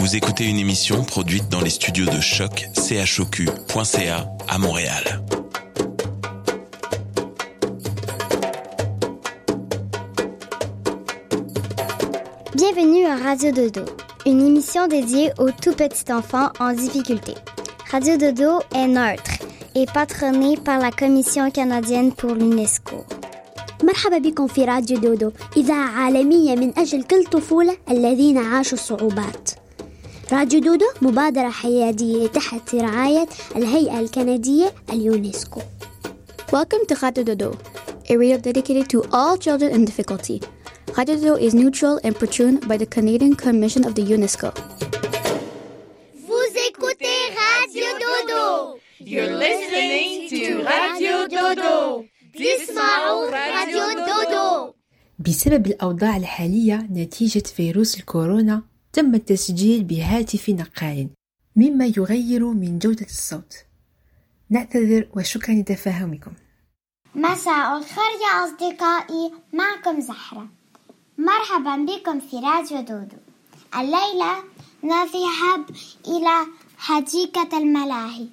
Vous écoutez une émission produite dans les studios de Choc, chocu.ca à Montréal. Bienvenue à Radio Dodo, une émission dédiée aux tout petits enfants en difficulté. Radio Dodo est neutre et patronnée par la Commission canadienne pour l'UNESCO. مرحبا بكم في راديو دودو، إذاعة عالمية من أجل كل طفولة الذين عاشوا الصعوبات. راديو دودو مبادرة حيادية تحت رعاية الهيئة الكندية اليونسكو. Welcome to Radio Dodo, a radio dedicated to all children in difficulty. Radio Dodo is neutral and patroned by the Canadian Commission of the UNESCO. Vous écoutez Radio Dodo. You're listening to Radio Dodo. تسمعوا راديو دودو. بسبب الأوضاع الحالية نتيجة فيروس الكورونا تم التسجيل بهاتف نقال مما يغير من جودة الصوت. نعتذر وشكرا لتفاهمكم. مساء الخير يا أصدقائي، معكم زهرة. مرحبا بكم في راديو دودو. الليلة نذهب إلى حديقة الملاهي.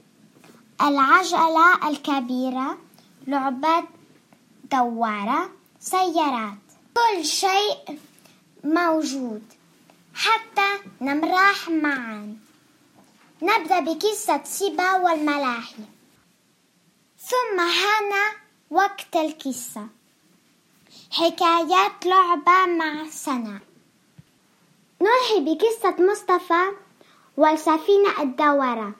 العجلة الكبيرة، لعبات دوارة، سيارات، كل شيء موجود حتى نمرح معا. نبدأ بقصة سيبا والملاهي، ثم حان وقت القصة. حكايات لعبة مع سنة. ننهي بقصة مصطفى والسفينة الدوارة.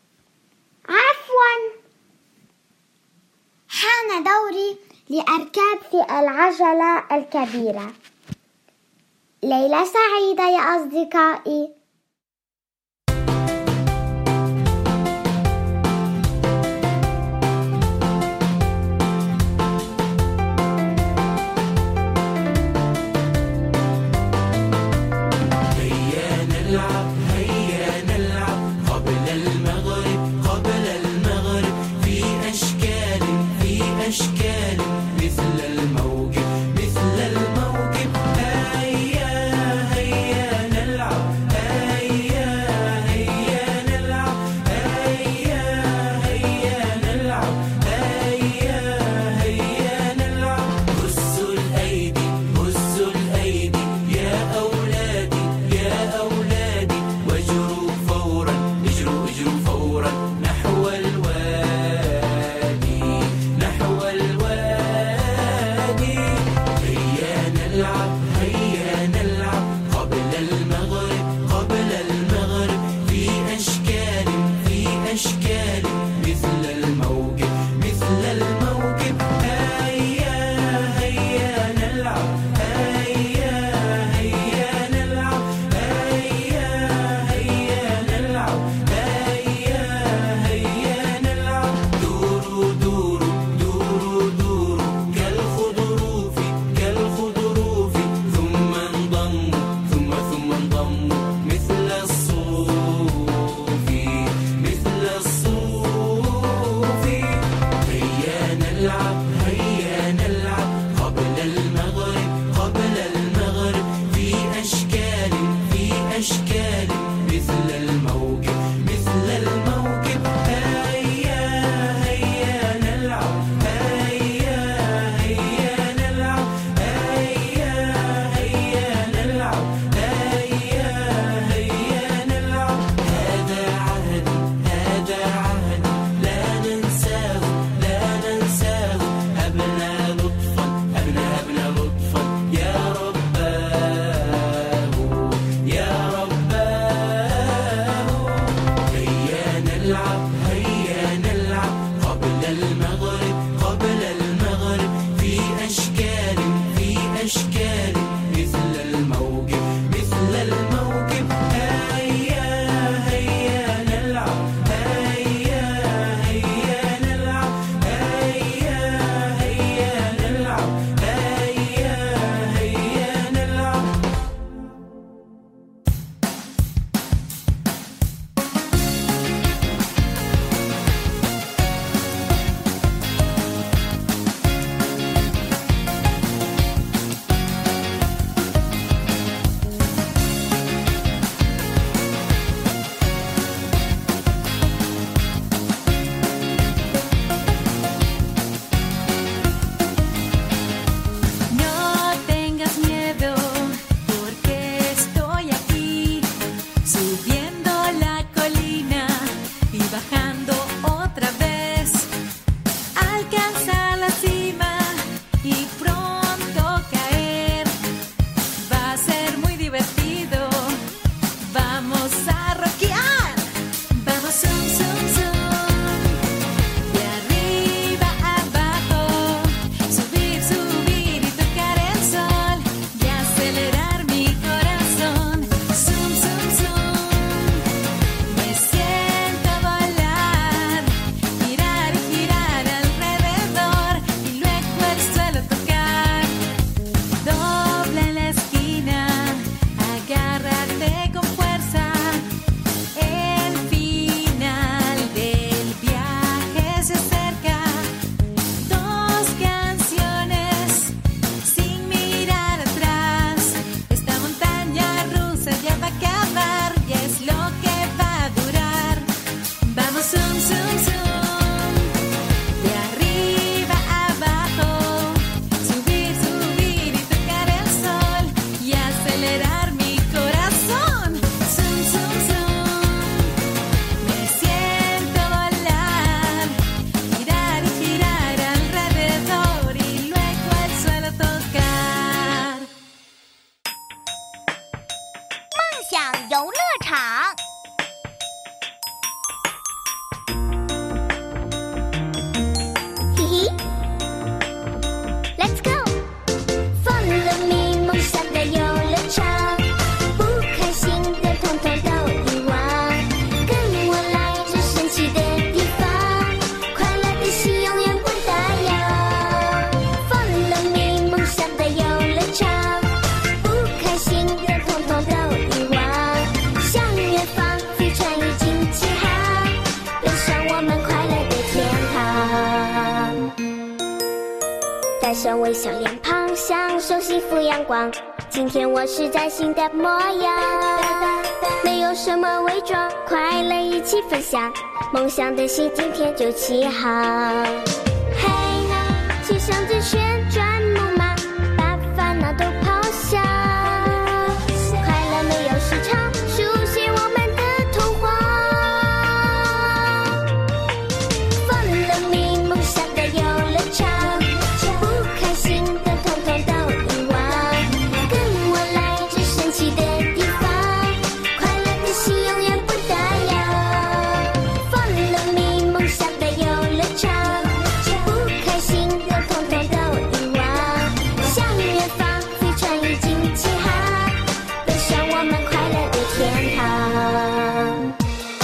عفواً، حان دوري لأركب في العجلة الكبيرة. ليلة سعيدة يا أصدقائي. هيا نلعب 游乐场。 嘿嘿 ，Let's go！ Follow me， 梦想的游乐场，不开心的统统都遗忘，跟我来这神奇的地方，快乐的心永远不打烊。Follow me， 梦想的游乐场，不开心的统统都遗忘，向远方飞船已经起航，奔向我们快乐的天堂。带上微笑脸庞，享受幸福阳光。今天我是崭新的模样，没有什么伪装，快乐一起分享，梦想的心今天就起航。嘿，骑上这旋转木马，把烦恼都抛下，快乐没有时长，书写我们的童话。Follow me， 梦想的游乐场，不开心的统统都遗忘，跟我来这神奇的地方，快乐的心永远不打烊。Follow me， 梦想的游乐场，不开心的统统都遗忘，向远方飞船已经起航，奔向我们快乐的天堂。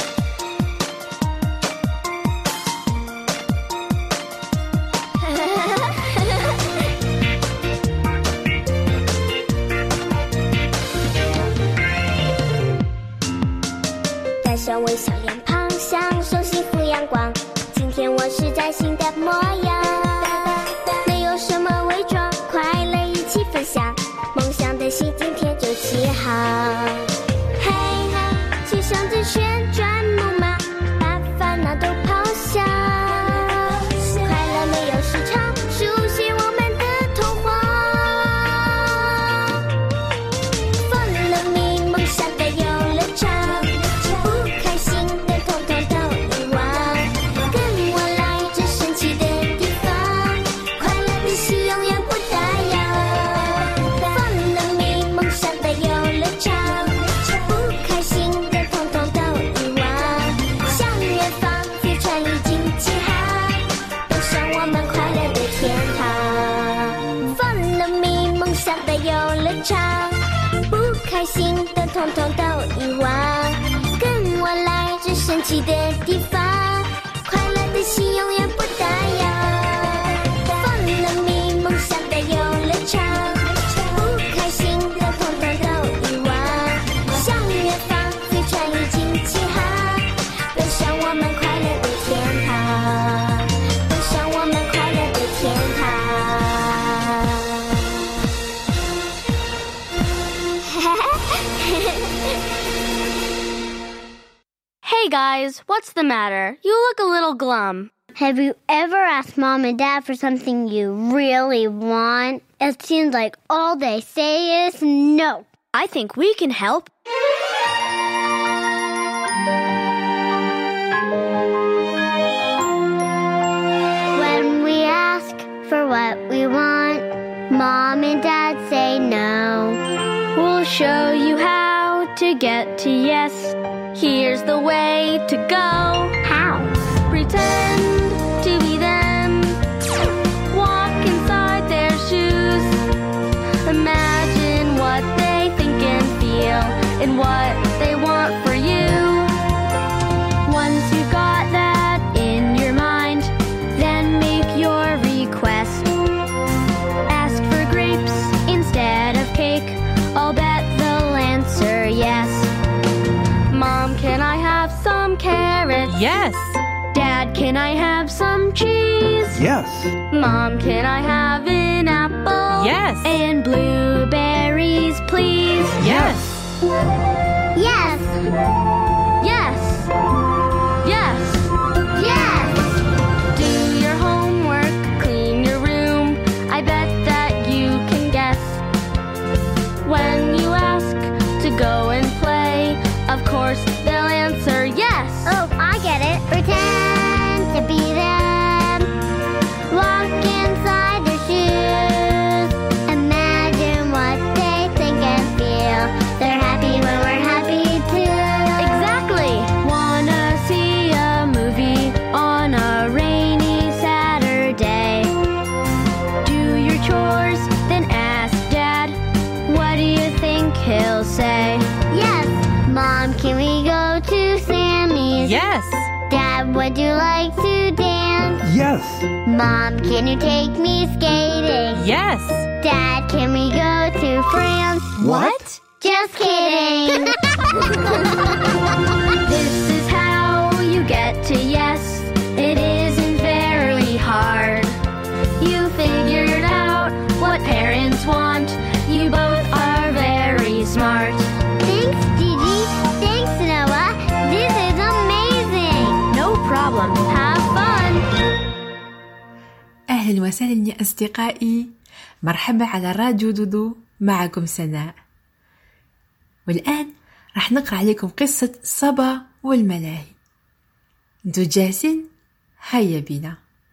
带上微笑脸庞，享受幸福阳光。今天我是崭新的模样，没有什么伪装，快乐一起分享，梦想的心今天就起航。嘿，骑上这旋转木马，把烦恼都抛下，快乐没有时长，书写我们的童话。Follow me， 梦想的游乐场，不开心的统统都遗忘，跟我来这神奇的地方，快乐的心永远不打烊。Follow me， 梦想的游乐场，不开心的统统都遗忘，向远方飞船已经起航，奔向我们快乐的天堂。Follow me， 梦想的游乐场，不开心的统统都遗忘，跟我来这神奇的地方，快乐的心永远不打烊。Follow me， 梦想的游乐场，不开心的统统都遗忘，向远方飞船已经起航，奔向我们快乐的天堂，奔向我们快乐的天堂。 Hey guys, what's the matter? You look a little glum. Have you ever asked Mom and Dad for something you really want? It seems like all they say is no. I think we can help. When we ask for what we want, Mom and Dad say no. We'll show you how to get to yes. Here's the way to go. How? Pretend to be them. Walk inside their shoes. Imagine what they think and feel and what they want for you. Once you've got that in your mind, then make your request. Ask for grapes instead of cake. I'll bet they'll answer yes. Mom, can I have some carrots? Yes. Dad, can I have some cheese? Yes. Mom, can I have an apple? Yes. And blueberries, please? Yes. Yes. Yes. Yes. Yes. Do your homework, clean your room. I bet that you can guess. When you ask to go and play, of course they'll answer yes. Oh, I get it. Pretend to be them. Walk inside their shoes. Imagine what they think and feel. They're happy when we're happy Yes. Dad, would you like to dance? Yes. Mom, can you take me skating? Yes. Dad, can we go to France? What? Just kidding. This is how you get to yes. It isn't very hard. You figured out what parents want. You both are very smart. Thanks, Gigi. Thanks, Noah. This is amazing. No problem. Have fun. أهلا وسهلا يا أصدقائي، مرحبا على راديو دودو، معكم سناء. والآن راح نقرأ عليكم قصة صبا والملاهي. انتوا جاهزين؟ هيا بنا.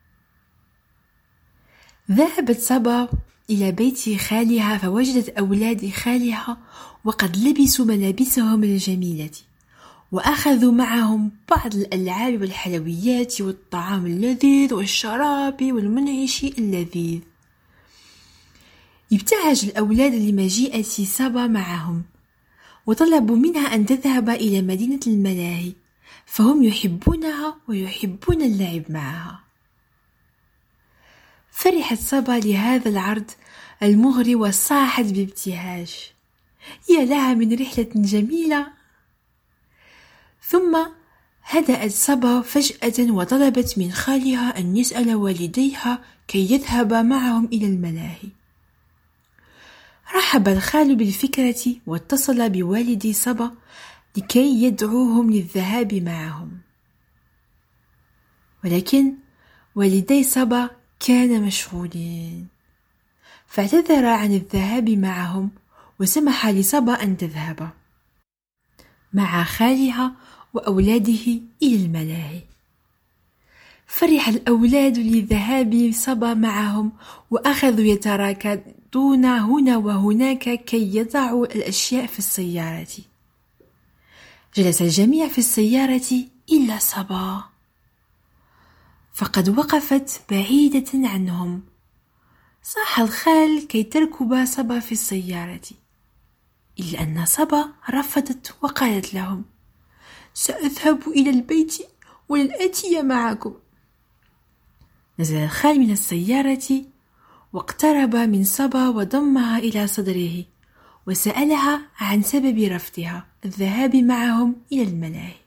ذهبت صبا إلى بيت خالها فوجدت أولاد خالها وقد لبسوا ملابسهم الجميلة وأخذوا معهم بعض الألعاب والحلويات والطعام اللذيذ والشراب والمنعش اللذيذ. ابتهج الأولاد لمجيئة صبا معهم وطلبوا منها أن تذهب إلى مدينة الملاهي فهم يحبونها ويحبون اللعب معها. فرحت صبا لهذا العرض المغري وصاحت بابتهاج: يا لها من رحلة جميلة! ثم هدأت صبا فجأة وطلبت من خالها أن يسأل والديها كي يذهبا معهم إلى الملاهي. رحب الخال بالفكرة واتصل بوالدي صبا لكي يدعوهم للذهاب معهم، ولكن والدي صبا كان مشغولين فاعتذر عن الذهاب معهم وسمح لصبا أن تذهب مع خالها وأولاده إلى الملاهي. فرح الأولاد لذهاب صبا معهم وأخذوا يتراكضون هنا وهناك كي يضعوا الأشياء في السيارة. جلس الجميع في السيارة إلا صبا، فقد وقفت بعيدة عنهم. صاح الخال كي تركب صبا في السيارة، إلا أن صبا رفضت وقالت لهم: سأذهب إلى البيت ولن آتي معكم. نزل الخال من السيارة واقترب من صبا وضمها إلى صدره وسألها عن سبب رفضها الذهاب معهم إلى الملاهي.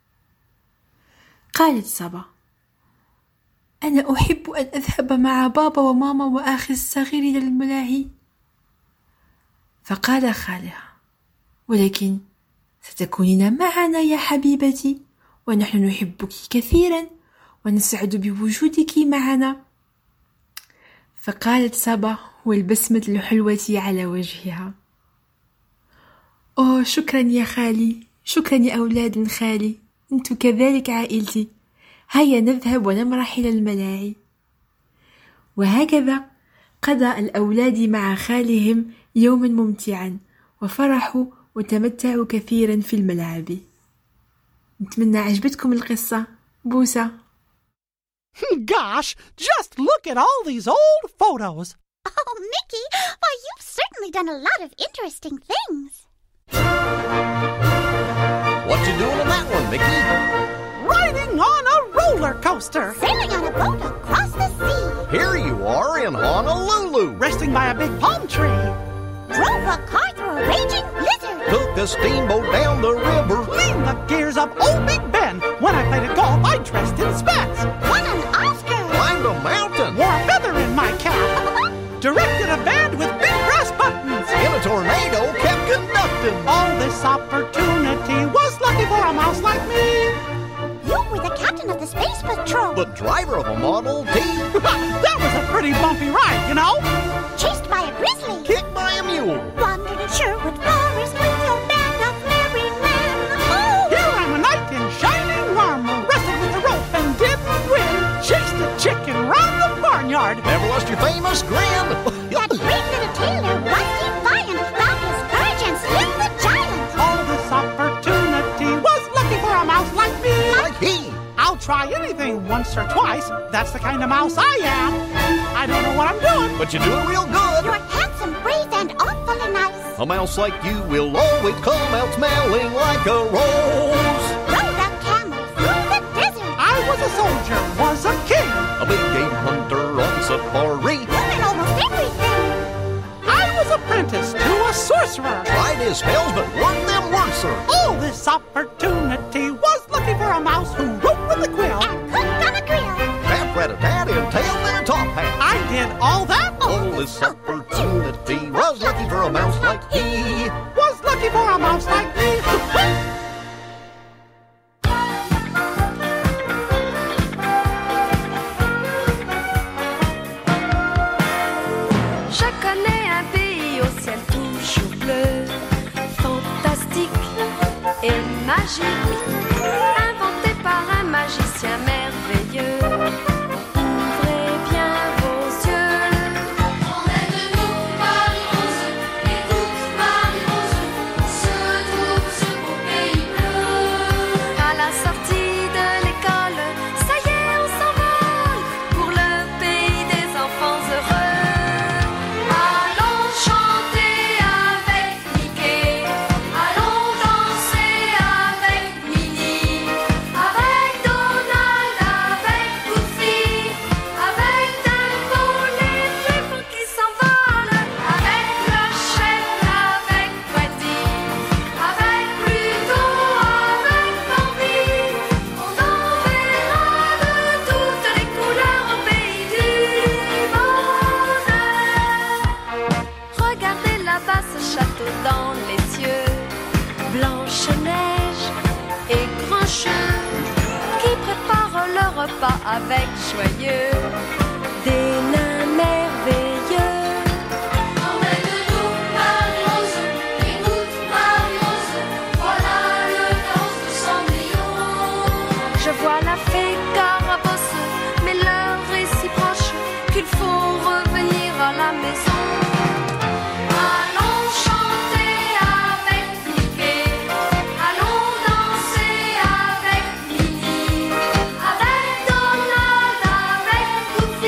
قالت صبا: أنا أحب أن أذهب مع بابا وماما وأخي الصغير إلى الملاهي. فقال خالها: ولكن ستكونين معنا يا حبيبتي، ونحن نحبك كثيرا ونسعد بوجودك معنا. فقالت صبا والبسمة الحلوة على وجهها: أوه، شكرا يا خالي، شكرا يا أولاد خالي، أنتم كذلك عائلتي، هيا نذهب ونمرح إلى الملاهي. وهكذا قضى الأولاد مع خالهم يوما ممتعا وفرحوا وتمتعوا كثيرا في الملعب. نتمنى عجبتكم القصة. بوسة. Gosh, just look at all these old photos. Oh, Mickey, why, you've certainly done a lot of interesting things. What you doing in that one, Mickey? Riding on a roller coaster. Sailing on a boat across the sea. Here you are in Honolulu. Resting by a big palm tree. Drove a car through a raging blizzard. Took a steamboat down the river. Cleaned the gears up Old Big Ben. When I played at golf, I dressed in spats. Won an Oscar. Climbed a mountain. Wore a feather in my cap. Directed a band with big brass buttons. In a tornado, kept conducting. All this opportunity was lucky for a mouse like me. You were the captain of the Space Patrol. The driver of a Model T. That was a pretty bumpy ride, you know. Chased by a grizzly. Kicked by a mule. Wandered in Sherwood Forest with your band of merry men. Oh! Here I'm a knight in shining armor, wrestled with a rope and didn't win. Chased a chicken round the barnyard. Never lost your famous grin. That brave little tailor was defiant, found his courage and slim the giant. All this opportunity was lucky for a mouse like me. Like he. I'll try anything once or twice. That's the kind of mouse I am. I don't know what I'm doing, But you're doing real good. You're handsome, brave, and awfully nice. A mouse like you will always come out smelling like a rose. Rode a camel through a soldier, was a king. A big game hunter on safari. Learn almost everything. I was apprenticed to a sorcerer. Tried his spells, but worked them worser. All this opportunity was looking for a mouse who wrote with a quill. And cooked on a grill. Tap, rat-a-tat, and tail in a top hat. I did all that. All this opportunity was looking for a mouse like he. Was looking for a mouse like me. Je connais un pays au ciel toujours bleu, fantastique et magique, inventé par un magicien merveilleux. Ouvrez bien vos yeux. Emmène-nous, Marie-Rose, écoute, Marie-Rose, se trouve ce beau pays bleu. À la sortie de l'école, ça y est, on s'envole pour le pays des enfants heureux. Allons chanter avec Mickey, allons danser avec Minnie, avec Donald, avec Goofy, avec Dumbo, les flippers qui s'envolent, avec le chef, avec Wendy, avec Pluto, avec Bambi. On enverra de toutes les couleurs au pays du monde. Regardez là-bas ce château dans les cieux, Blanche-Neige et Grincheux qui préparent le repas avec joyeux des nains merveilleux. Emmène-nous, Marie-Rose, écoute, Marie-Rose, voilà le carrosse de Cendrillon. Je vois la fée Carabosse, mais l'heure est si proche qu'il faut revenir à la maison. Allons chanter avec Mickey, allons danser avec Minnie, avec Donald, avec Goofy.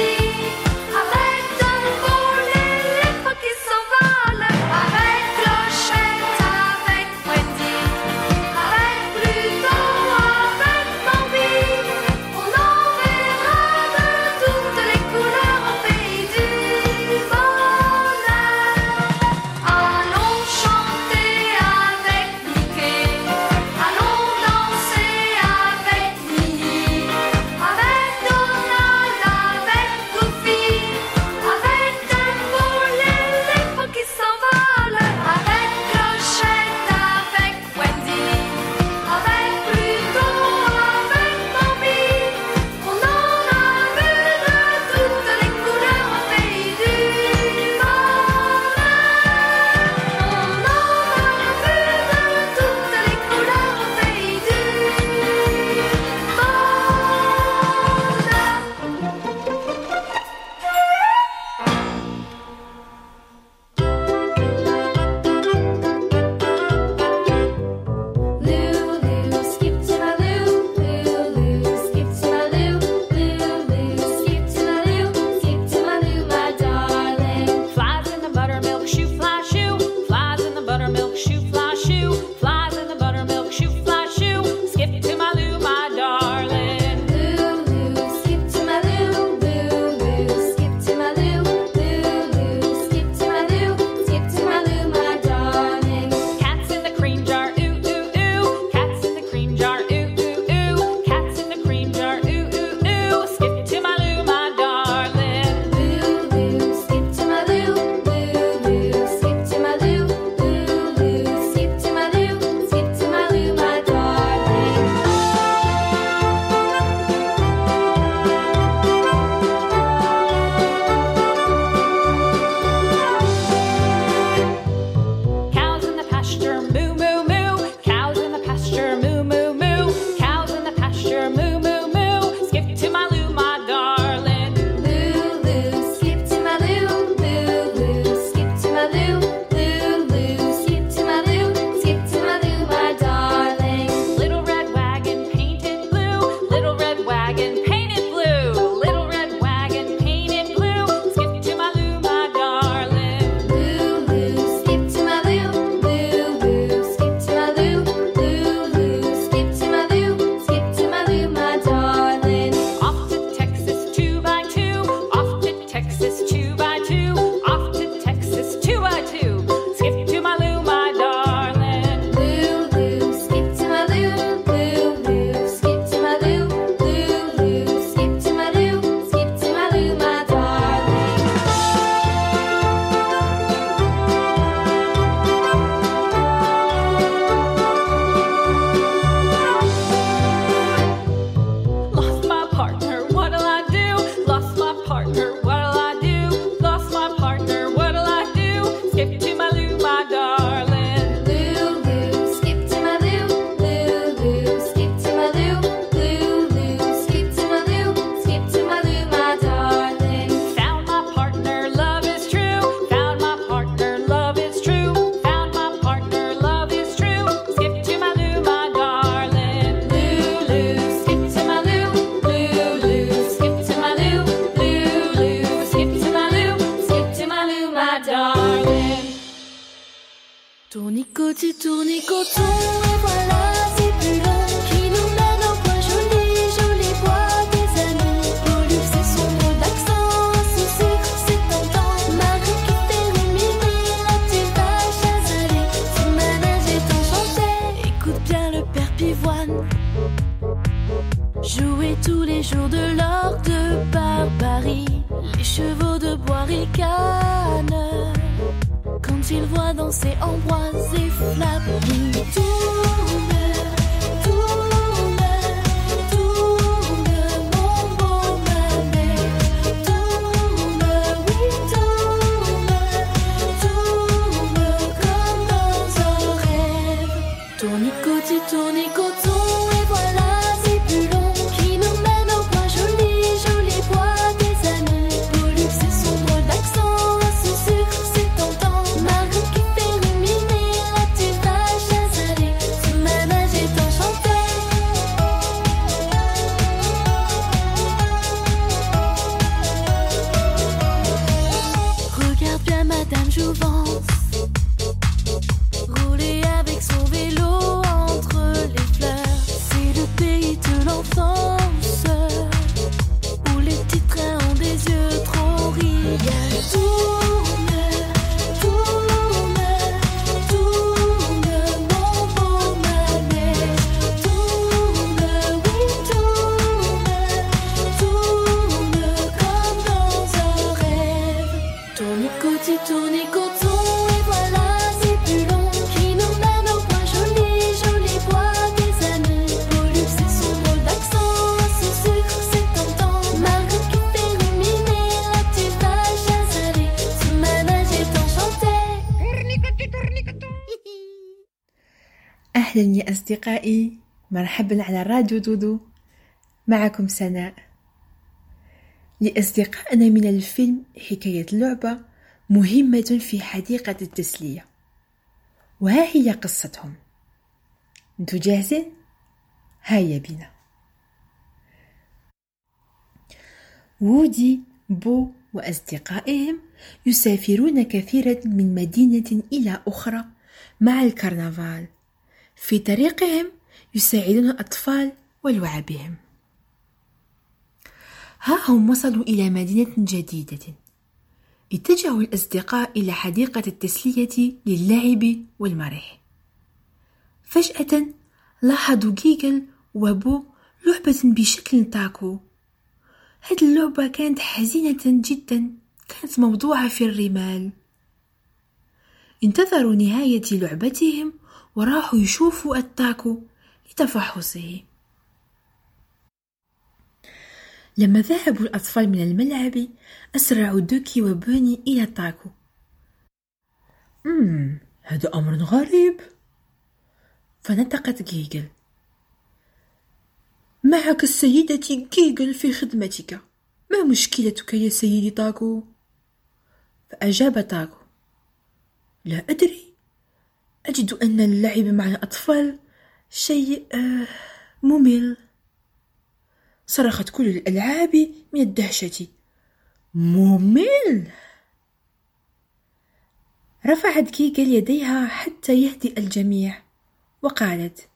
Tournicoti, tournicoton, et voilà, c'est plus long, qui nous mène au point joli, joli bois des années. Pollux, c'est son drôle d'accent, son sucre, c'est tentant. Marie qui fait ruminer la petite vache à saler. Son manège est enchanté, écoute bien le père Pivoine. Jouer tous les jours de l'or de barbarie, les chevaux de bois ricanent quand ils voient danser Ambroise et Flavie. Tourne, tourne, tourne, mon beau manège. Tourne, oui, tourne, tourne comme dans un rêve. Tournicoti, tournicoton, et voilà, c'est plus long, qui nous mène au point joli, joli bois des années. Pollux, c'est son drôle d'accent, son sucre, c'est tentant. Marie qui fait ruminer la petite vache à saler. Son manège est enchanté. Regarde bien Madame Jouvence rouler avec son vélo entre les fleurs. C'est le pays de l'enfance où les petits trains ont des yeux trop riants. Tourne, tourne, tourne, mon beau manège. Tourne, oui, tourne, tourne comme dans un rêve. Tournicoti, tournicoton, et voilà, c'est plus long, qui nous mène au point joli, joli bois des années. Pollux, c'est son drôle d'accent, son sucre, c'est tentant. Marie qui fait ruminer la petite vache à saler. Son manège est enchanté. أهلا يا أصدقائي، مرحبا على راديو دودو، معكم سناء. لأصدقائنا من الفيلم حكاية لعبة مهمة في حديقة التسلية، وها هي قصتهم. انتوا جاهزين؟ هيا بنا. وودي، بو وأصدقائهم يسافرون كثيرا من مدينة إلى أخرى مع الكرنفال. في طريقهم يساعدون الأطفال ولعبهم. ها هم وصلوا إلى مدينة جديدة. اتجهوا الأصدقاء إلى حديقة التسلية للعب والمرح. فجأة لاحظوا جيجل وبو لعبة بشكل تاكو. هذه اللعبة كانت حزينة جدا، كانت موضوعة في الرمال. انتظروا نهاية لعبتهم وراحوا يشوفوا التاكو لتفحصه. لما ذهبوا الأطفال من الملعب أسرعوا دوكي وبوني إلى تاكو. هذا أمر غريب. فنطقت جيجل: معك السيدة جيجل في خدمتك، ما مشكلتك يا سيدي تاكو؟ فأجاب تاكو: لا أدري، أجد أن اللعب مع الأطفال شيء ممل. صرخت كل الألعاب من الدهشة: ممل! رفعت جيجل يديها حتى يهدئ الجميع وقالت: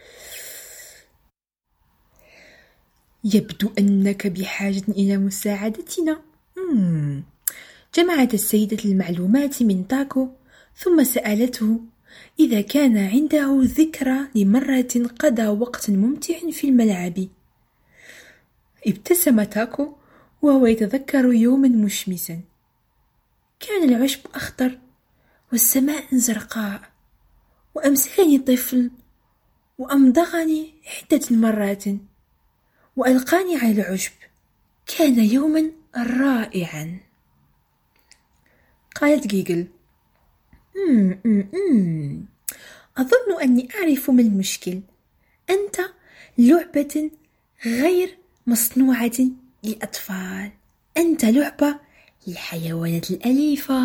يبدو أنك بحاجة إلى مساعدتنا. جمعت السيدة المعلومات من تاكو ثم سألته إذا كان عنده ذكرى لمرة قضى وقت ممتع في الملعب. ابتسم تاكو وهو يتذكر يوما مشمسا. كان العشب أخضر والسماء زرقاء، وأمسكني طفل وأمضغني عدة مرات وألقاني على العشب. كان يوما رائعا. قالت جيجل: أظن أني أعرف ما المشكل. أنت لعبة غير مصنوعة للأطفال، أنت لعبة للحيوانات الأليفة.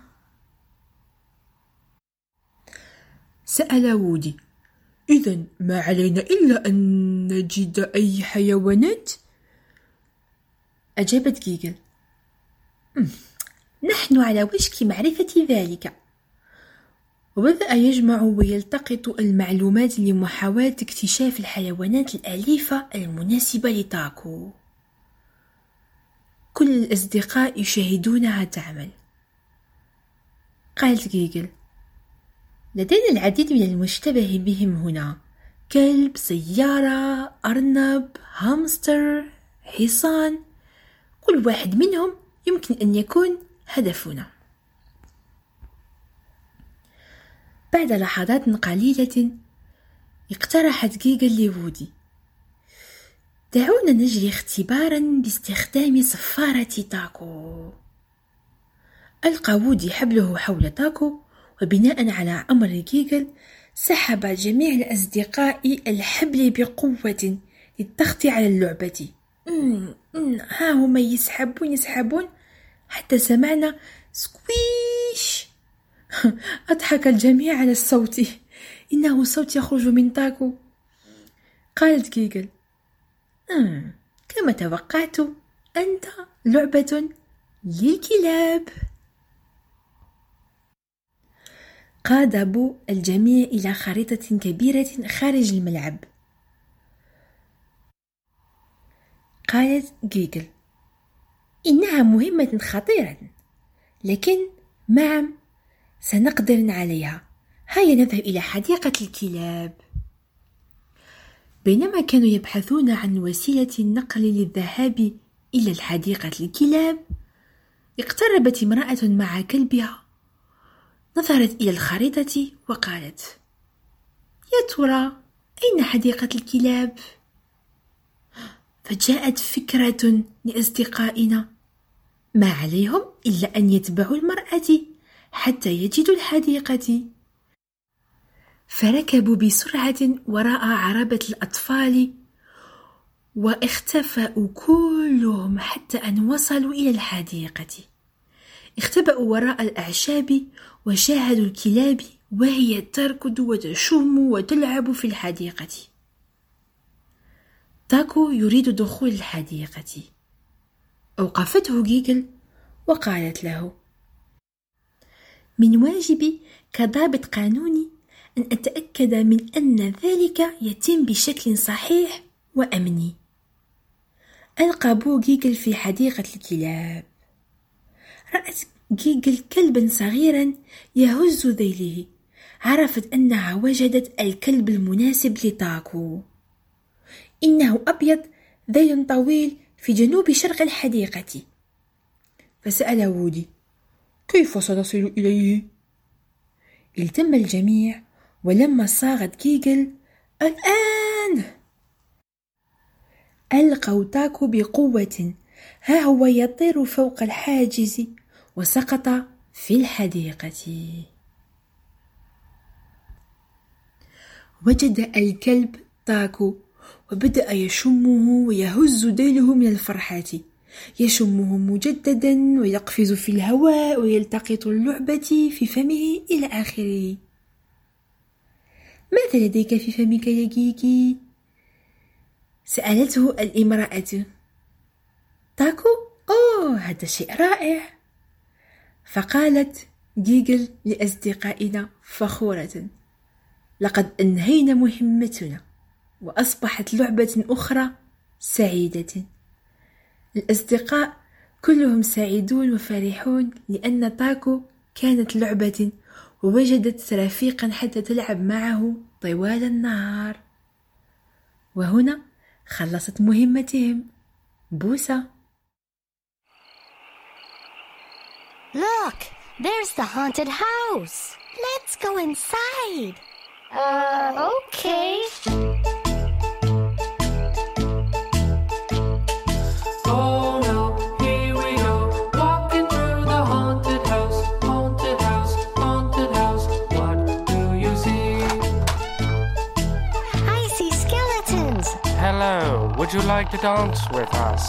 سأل وودي: إذن ما علينا إلا أن نجد أي حيوانات؟ أجابت جيجل: نحن على وشك معرفة ذلك. وبدأ يجمع ويلتقط المعلومات لمحاولة اكتشاف الحيوانات الأليفة المناسبة لتاكو. كل الأصدقاء يشاهدونها تعمل. قالت جيجل: لدينا العديد من المشتبه بهم هنا، كلب، سيارة، أرنب، هامستر، حصان، كل واحد منهم يمكن أن يكون هدفنا. بعد لحظات قليلة اقترحت جيجل لوودي: دعونا نجري اختبارا باستخدام صفارة تاكو. ألقى وودي حبله حول تاكو، وبناء على أمر جيجل سحب جميع الأصدقاء الحبل بقوة للضغط على اللعبة. ها هم يسحبون حتى سمعنا سكويش. أضحك الجميع على الصوت، إنه صوت يخرج من تاكو. قالت جيجل: كما توقعت، أنت لعبة للكلاب. قاد بو الجميع إلى خريطة كبيرة خارج الملعب. قالت جيجل: إنها مهمة خطيرة، لكن معا سنقدر عليها. هيا نذهب إلى حديقة الكلاب. بينما كانوا يبحثون عن وسيلة النقل للذهاب إلى الحديقة الكلاب، اقتربت امرأة مع كلبها، نظرت إلى الخريطة وقالت: يا ترى أين حديقة الكلاب؟ فجاءت فكرة لأصدقائنا: ما عليهم إلا أن يتبعوا المرأة حتى يجدوا الحديقة. فركبوا بسرعة وراء عربة الأطفال، واختفأوا كلهم حتى أن وصلوا إلى الحديقة. اختبأوا وراء الأعشاب وشاهدوا الكلاب وهي تركض وتشم وتلعب في الحديقة. تاكو يريد دخول الحديقة. أوقفته جيجل وقالت له: من واجبي كضابط قانوني أن أتأكد من أن ذلك يتم بشكل صحيح وأمني. ألقى بو جيجل في حديقة الكلاب. رأت جيجل كلبا صغيرا يهز ذيله. عرفت أنها وجدت الكلب المناسب لتاكو. إنه أبيض ذيل طويل في جنوب شرق الحديقة. فسأل وودي: كيف سنصل إليه؟ التم الجميع، ولما صاغت جيجل: الآن! ألقوا تاكو بقوة. ها هو يطير فوق الحاجز وسقط في الحديقة. وجد الكلب تاكو وبدأ يشمه ويهز ذيله من الفرحة. يشمه مجددا ويقفز في الهواء ويلتقط اللعبة في فمه إلى آخره. ماذا لديك في فمك يا جيجي؟ سألته الامرأة. تاكو؟ أوه، هذا شيء رائع. فقالت جيجل لأصدقائنا فخورة: لقد أنهينا مهمتنا وأصبحت لعبة أخرى سعيدة. الأصدقاء كلهم سعيدون وفرحون لأن تاكو كانت لعبة ووجدت رفيقا حتى تلعب معه طوال النهار. وهنا خلصت مهمتهم. بوسة. Look, there's the haunted house. Let's go inside. Okay. Oh no, here we go, walking through the haunted house, haunted house, haunted house. What do you see? I see skeletons. Hello, would you like to dance with us?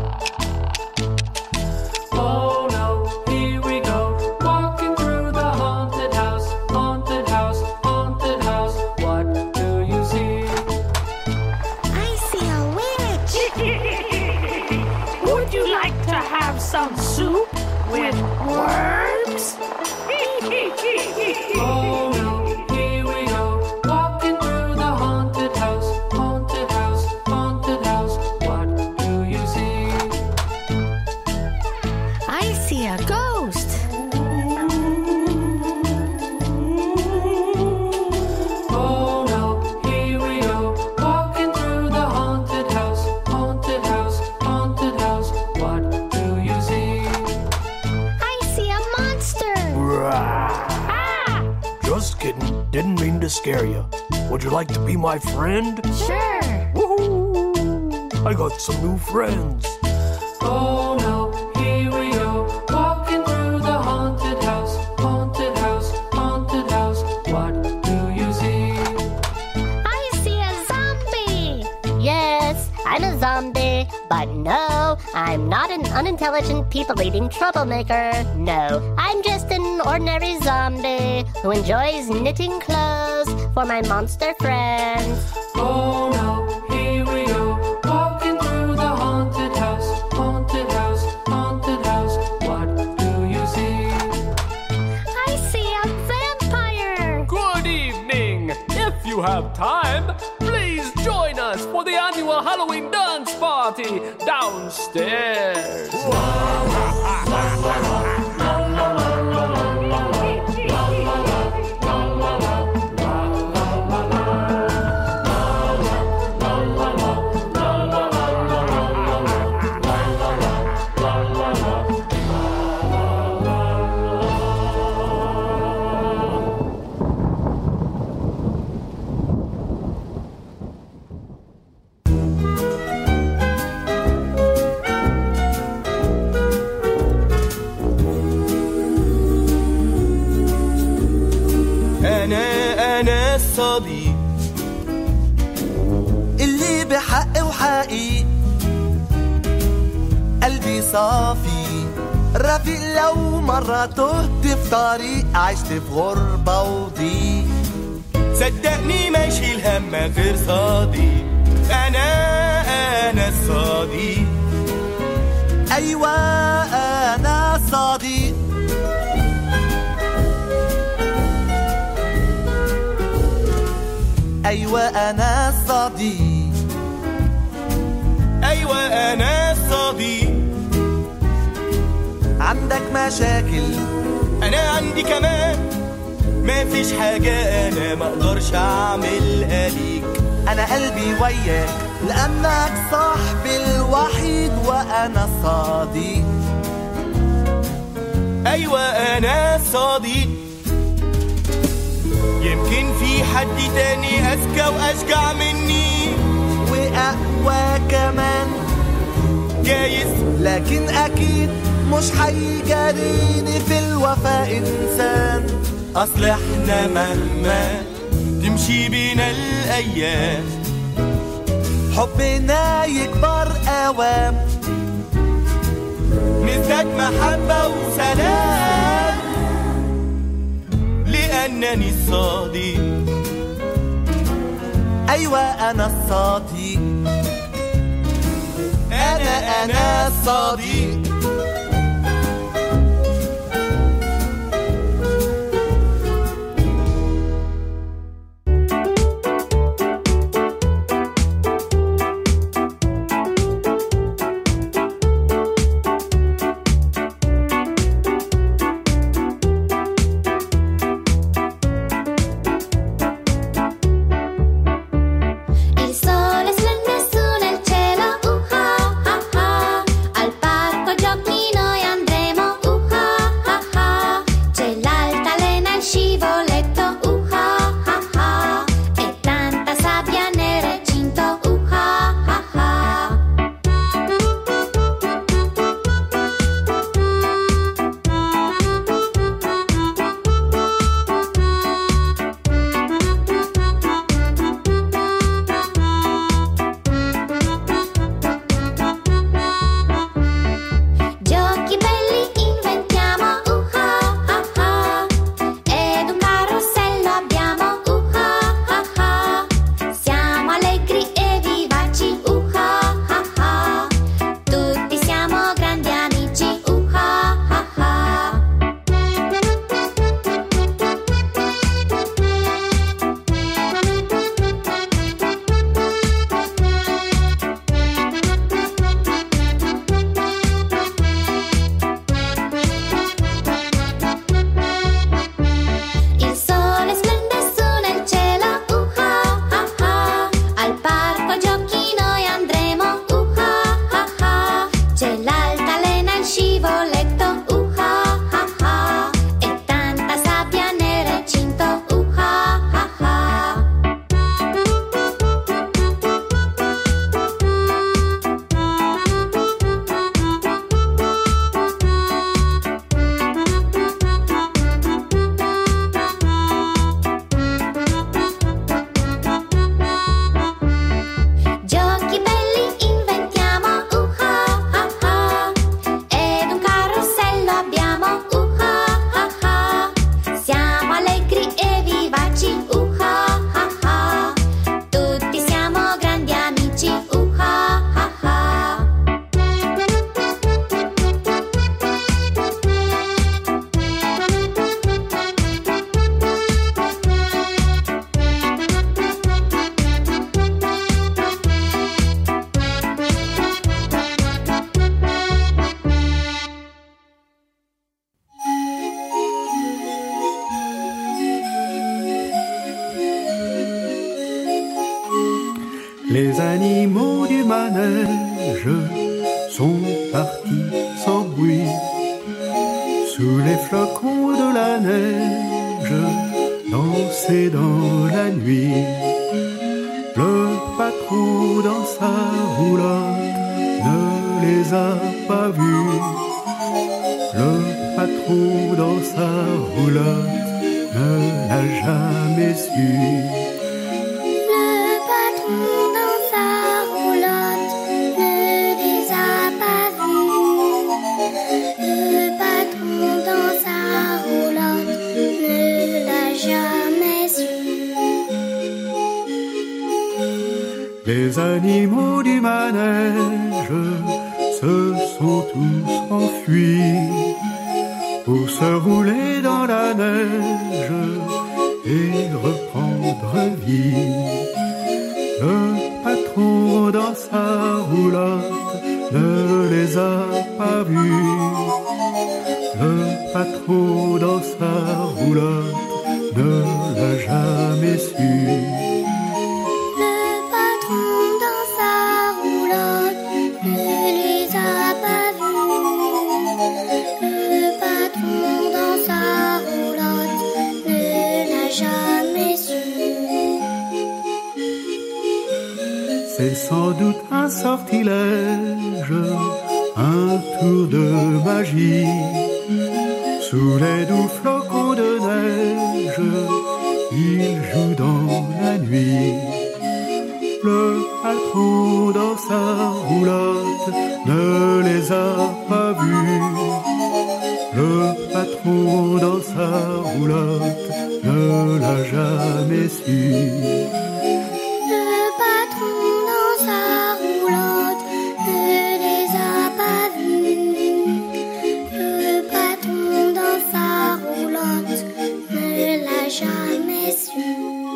Oh no, here we go, walking through the haunted house, haunted house, haunted house. What do you see? I see a witch. Would you like to have some soup with worms? Oh no. to scare you. Would you like to be my friend? Sure. Woohoo! I got some new friends. Oh no, here we go, walking through the haunted house, haunted house, haunted house. What do you see? I see a zombie. Yes, I'm a zombie. But no, I'm not an unintelligent, people-eating troublemaker. No, I'm just an ordinary zombie who enjoys knitting clothes for my monster friends. Oh no, here we go, walking through the haunted house, haunted house, haunted house. What do you see? I see a vampire. Good evening. If you have time, please join us for the annual Halloween dance party downstairs. أنا الصديق اللي بحق وحقيق، قلبي صافي رفيق لو مرة تهت في طريق، عشت في غربة وضيق، صدقني ما يشيل هم غير صديق. أنا الصديق، أيوة أنا الصديق. أيوة أنا الصديق، أيوة أنا الصديق. عندك مشاكل أنا عندي كمان، ما فيش حاجة أنا ما أقدرش أعملها ليك. أنا قلبي وياك لأنك صاحبي الوحيد وأنا الصديق. أيوة أنا الصديق. يمكن في حد تاني أذكى وأشجع مني وأقوى كمان، جايز لكن أكيد مش هيجاريني في الوفاء إنسان. أصل إحنا مهما تمشي بينا الأيام، حبنا يكبر أوام، نزداد محبة وسلام، لأنني الصديق. أيوة أنا الصديق، أنا الصديق. Il sole splende su nel cielo, al parco Les animaux du manège sont partis sans bruit. Sous les flocons de la neige, danser dans la nuit. Le patron dans sa roulotte ne les a pas vus. Le patron dans sa roulotte ne l'a jamais su. Le patron dans sa roulotte ne les a pas vus. Le patron dans sa roulotte ne l'a jamais su. Les animaux du manège se sont tous enfuis pour se rouler dans la neige et reprendre vie. Le patron dans sa roulotte ne les a pas vus. Le patron dans sa roulotte ne l'a jamais su. Le patron dans sa roulotte ne les a pas vus. Le patron dans sa roulotte ne l'a jamais su. C'est sans doute un sortilège, un tour de magie. Sous les doux flocons de neige, il joue dans la nuit. Le patron dans sa roulotte ne les a pas vus. Le patron dans sa roulotte ne l'a jamais su. Le patron dans sa roulotte ne les a pas vus. Le patron dans sa roulotte ne l'a jamais su.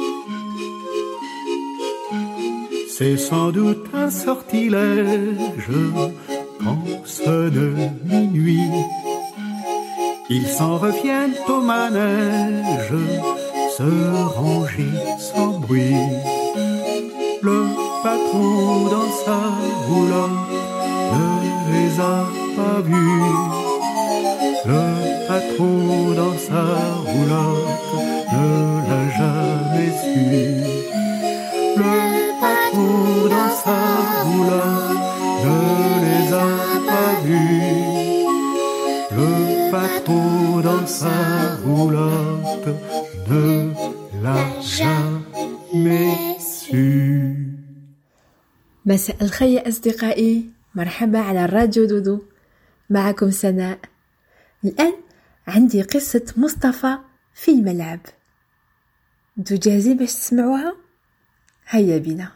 C'est sans doute un sortilège quand sonne minuit. Ils s'en reviennent au manège, se ranger sans bruit. Le patron dans sa roulotte ne les a pas vus. Le patron dans sa roulotte ne l'a jamais su. Le patron dans sa roulotte ne les a pas vus. Le patron dans sa roulotte ne l'a jamais su. مساء الخير يا أصدقائي، مرحبا على الراديو دودو، معكم سناء. الآن عندي قصة مصطفى في الملعب. انتو جاهزين باش تسمعوها؟ هيا بنا.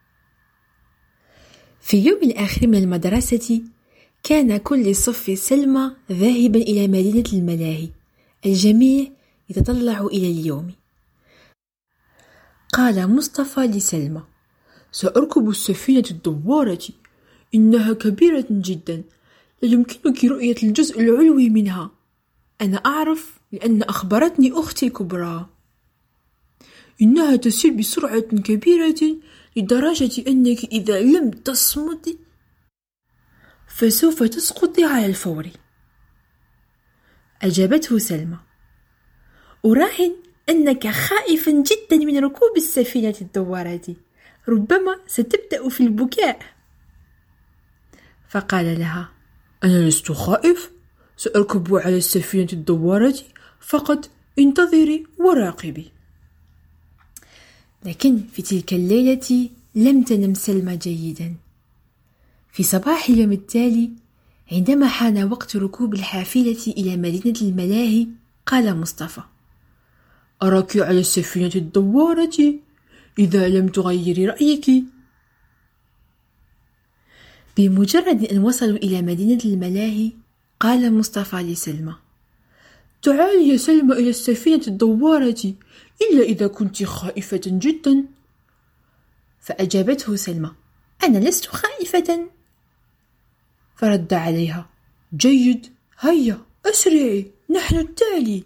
في يوم الآخر من المدرسة كان كل صف سلمى ذاهبا إلى مدينة الملاهي. الجميع يتطلع إلى اليوم. قال مصطفى لسلمى: سأركب السفينة الدوارة، إنها كبيرة جدا، لا يمكنك رؤية الجزء العلوي منها. أنا أعرف لأن أخبرتني أختي الكبرى. إنها تسير بسرعة كبيرة لدرجة أنك إذا لم تصمدي فسوف تسقطي على الفور. أجابته سلمى: أراهن أنك خائفا جدا من ركوب السفينة الدوارة، ربما ستبدأ في البكاء. فقال لها: أنا لست خائف، سأركب على السفينة الدوارة فقط، انتظري وراقبي. لكن في تلك الليلة لم تنم سلمى جيدا. في صباح اليوم التالي عندما حان وقت ركوب الحافلة إلى مدينة الملاهي قال مصطفى: أراك على السفينة الدوارة إذا لم تغيري رأيك. بمجرد أن وصلوا إلى مدينة الملاهي قال مصطفى لسلمى: تعالي يا سلمى إلى السفينة الدوارة، إلا إذا كنت خائفة جدا. فأجابته سلمى: أنا لست خائفة. فرد عليها: جيد، هيا أسرعي، نحن التالي.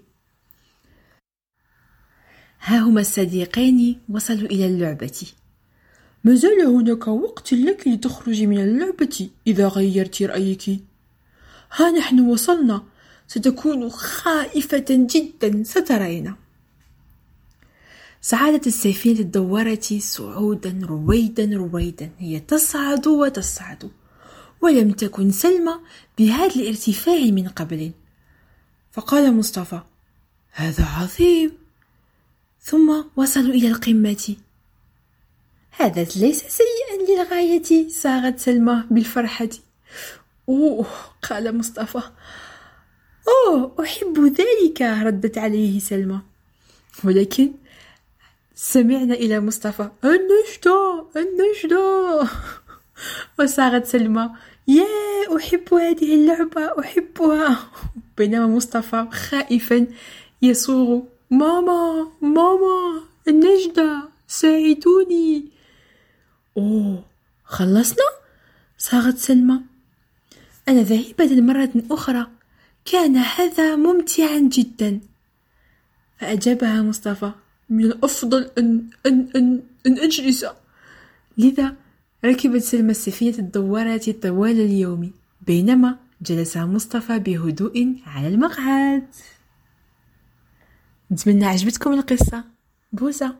ها هما الصديقان وصلوا إلى اللعبة. ما زال هناك وقت لك لتخرجي من اللعبة إذا غيرت رأيك. ها نحن وصلنا، ستكون خائفة جدا سترين. صعدت السفينة الدوارة صعودا رويدا، هي تصعد وتصعد، ولم تكن سلمى بهذا الارتفاع من قبل. فقال مصطفى: هذا عظيم. ثم وصلوا إلى القمة. هذا ليس سيئا للغاية، صاغت سلمى بالفرحة. أوه، قال مصطفى. أوه، أحب ذلك، ردت عليه سلمى. ولكن سمعنا إلى مصطفى: النجدة. وصاغت سلمى: يا أحب هذه اللعبة، أحبها. بينما مصطفى خائفا يصوغ: ماما النجدة، ساعدوني. أوه، خلصنا؟ صاغت سلمى. أنا ذاهبة مرة أخرى، كان هذا ممتعا جدا. فأجابها مصطفى: من الأفضل أن أجلس. لذا ركبت سلمى السفينة الدوارة طوال اليوم، بينما جلس مصطفى بهدوء على المقعد. نتمنى عجبتكم القصة. بوسة.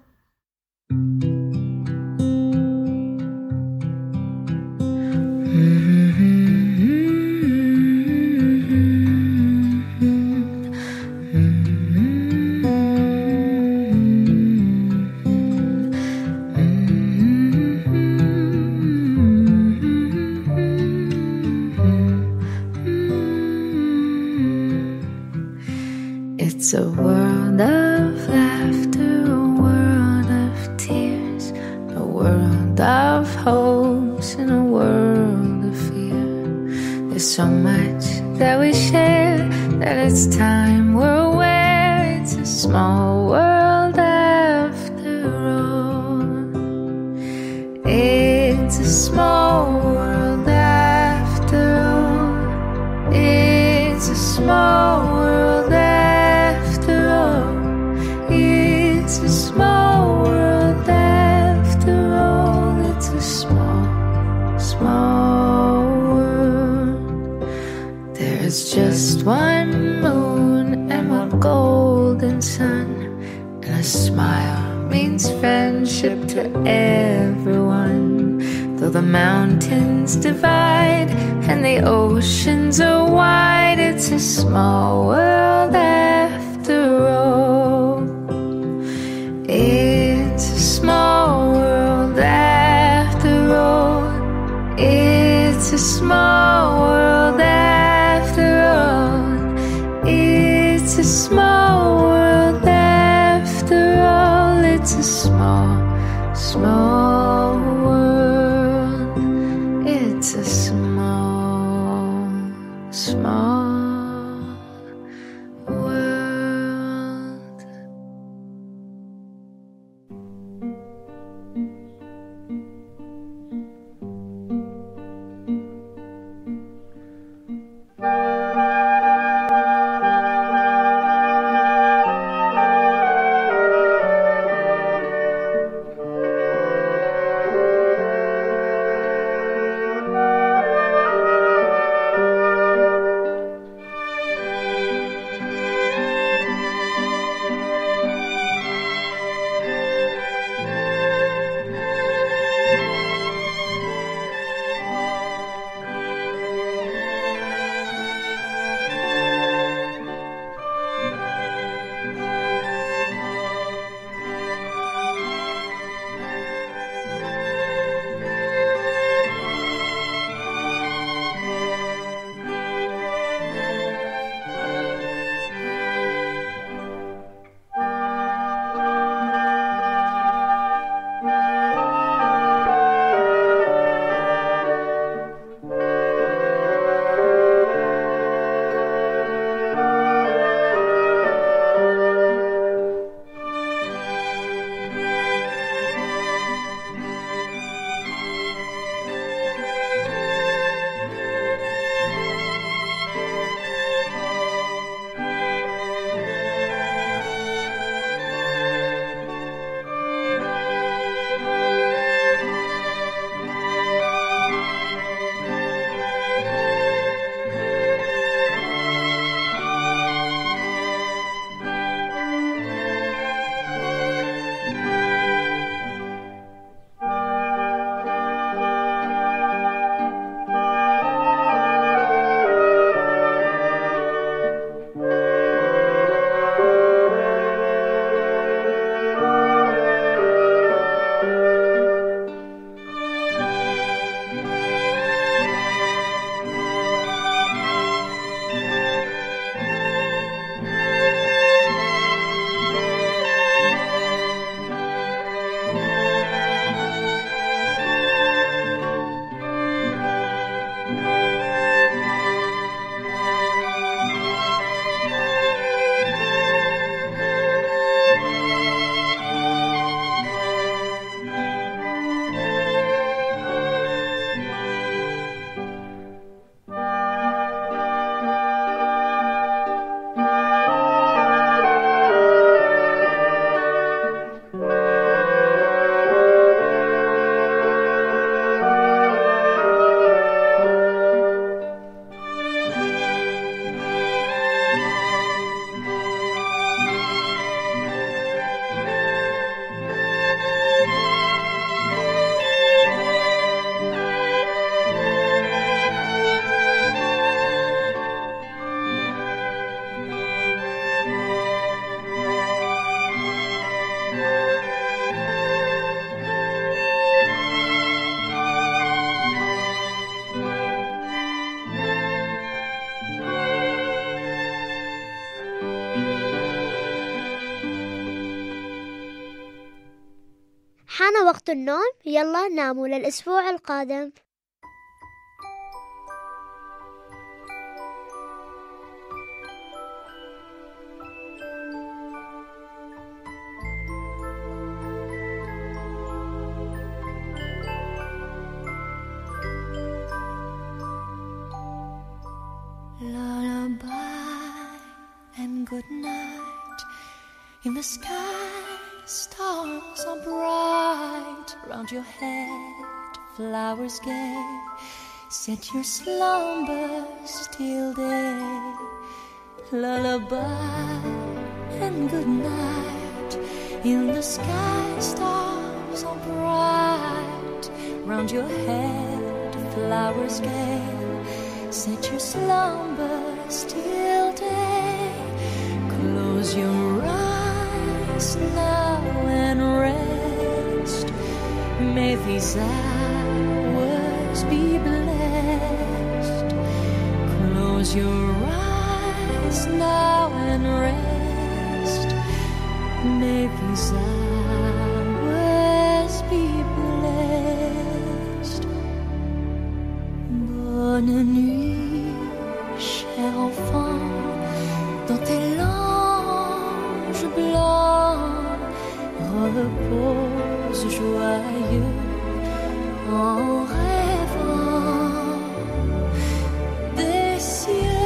It's a world of laughter, a world of tears, a world of hopes and a world of fear. There's so much that we share that it's time we're aware it's a small world after all. It's a small world after all. It's a small world after all. It's a small world after all. It's a small world. There's just one moon and one golden sun, and a smile means friendship to everyone. Though the mountains divide and the oceans are wide, it's a small world after all. It's a small world after all. It's a small world after all. It's a small world after all. It's a small world. It's a small world. وقت النوم، يلا ناموا للأسبوع القادم. Lullaby and good night. In the sky, stars are bright. Round your head, flowers gay. Set your slumbers till day. Lullaby and good night. In the sky, stars are bright. Round your head, flowers gay. Set your slumbers till day. Close your eyes now and rest. May these hours be blessed. Close your eyes now and rest. May these hours be blessed. Bonne nuit, cher enfant, dans tes langes blancs, repose joyeux en rêvant des cieux.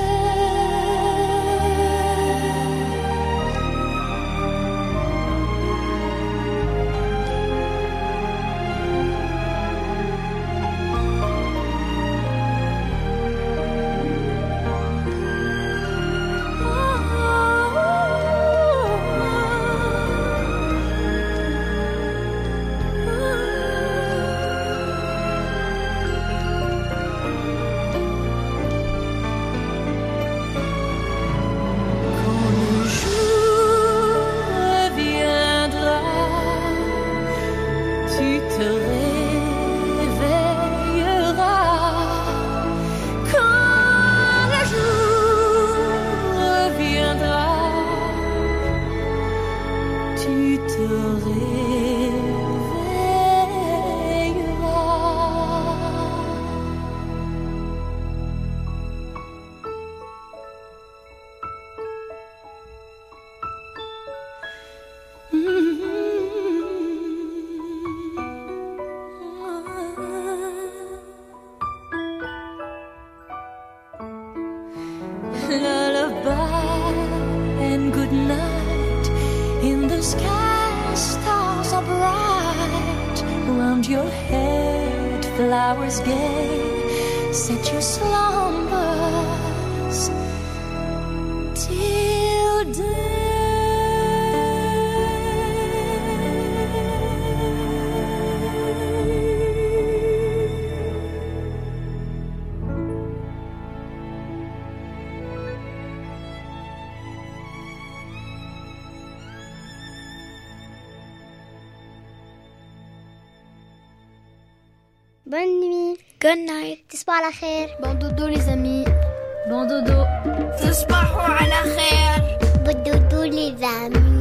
Lullaby and good night. In the sky, stars are bright. Round your head, flowers gay. Set your slumbers till day. Bonne nuit. Good night. تصبحوا على خير. Bon dodo les amis. Bon dodo. تصبحوا على خير. Bon dodo les amis.